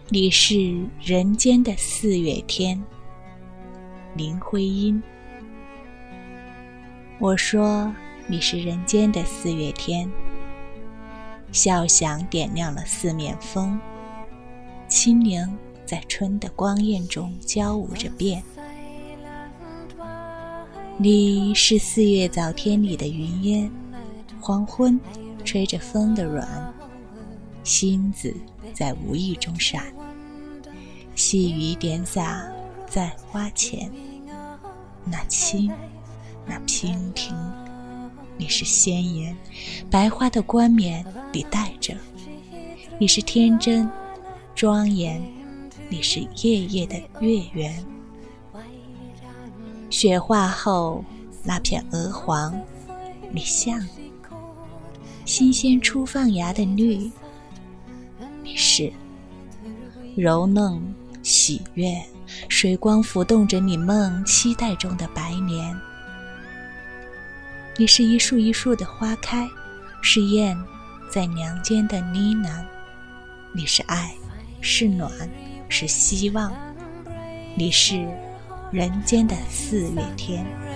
你是人间的四月天，林徽因。我说你是人间的四月天，笑响点亮了四面风，清灵在春的光艳中交舞着变。你是四月早天里的云烟，黄昏吹着风的软，星子在无意中闪，细雨点洒在花前，那轻，那娉婷。你是鲜艳白花的冠冕里带着，你是天真庄严，你是夜夜的月圆。雪化后那片鹅黄，你像新鲜初放芽的绿，你是柔嫩喜悦，水光浮动着你梦期待中的白莲。你是一树一树的花开，是燕在娘间的呢喃。你是爱，是暖，是希望，你是人间的四月天。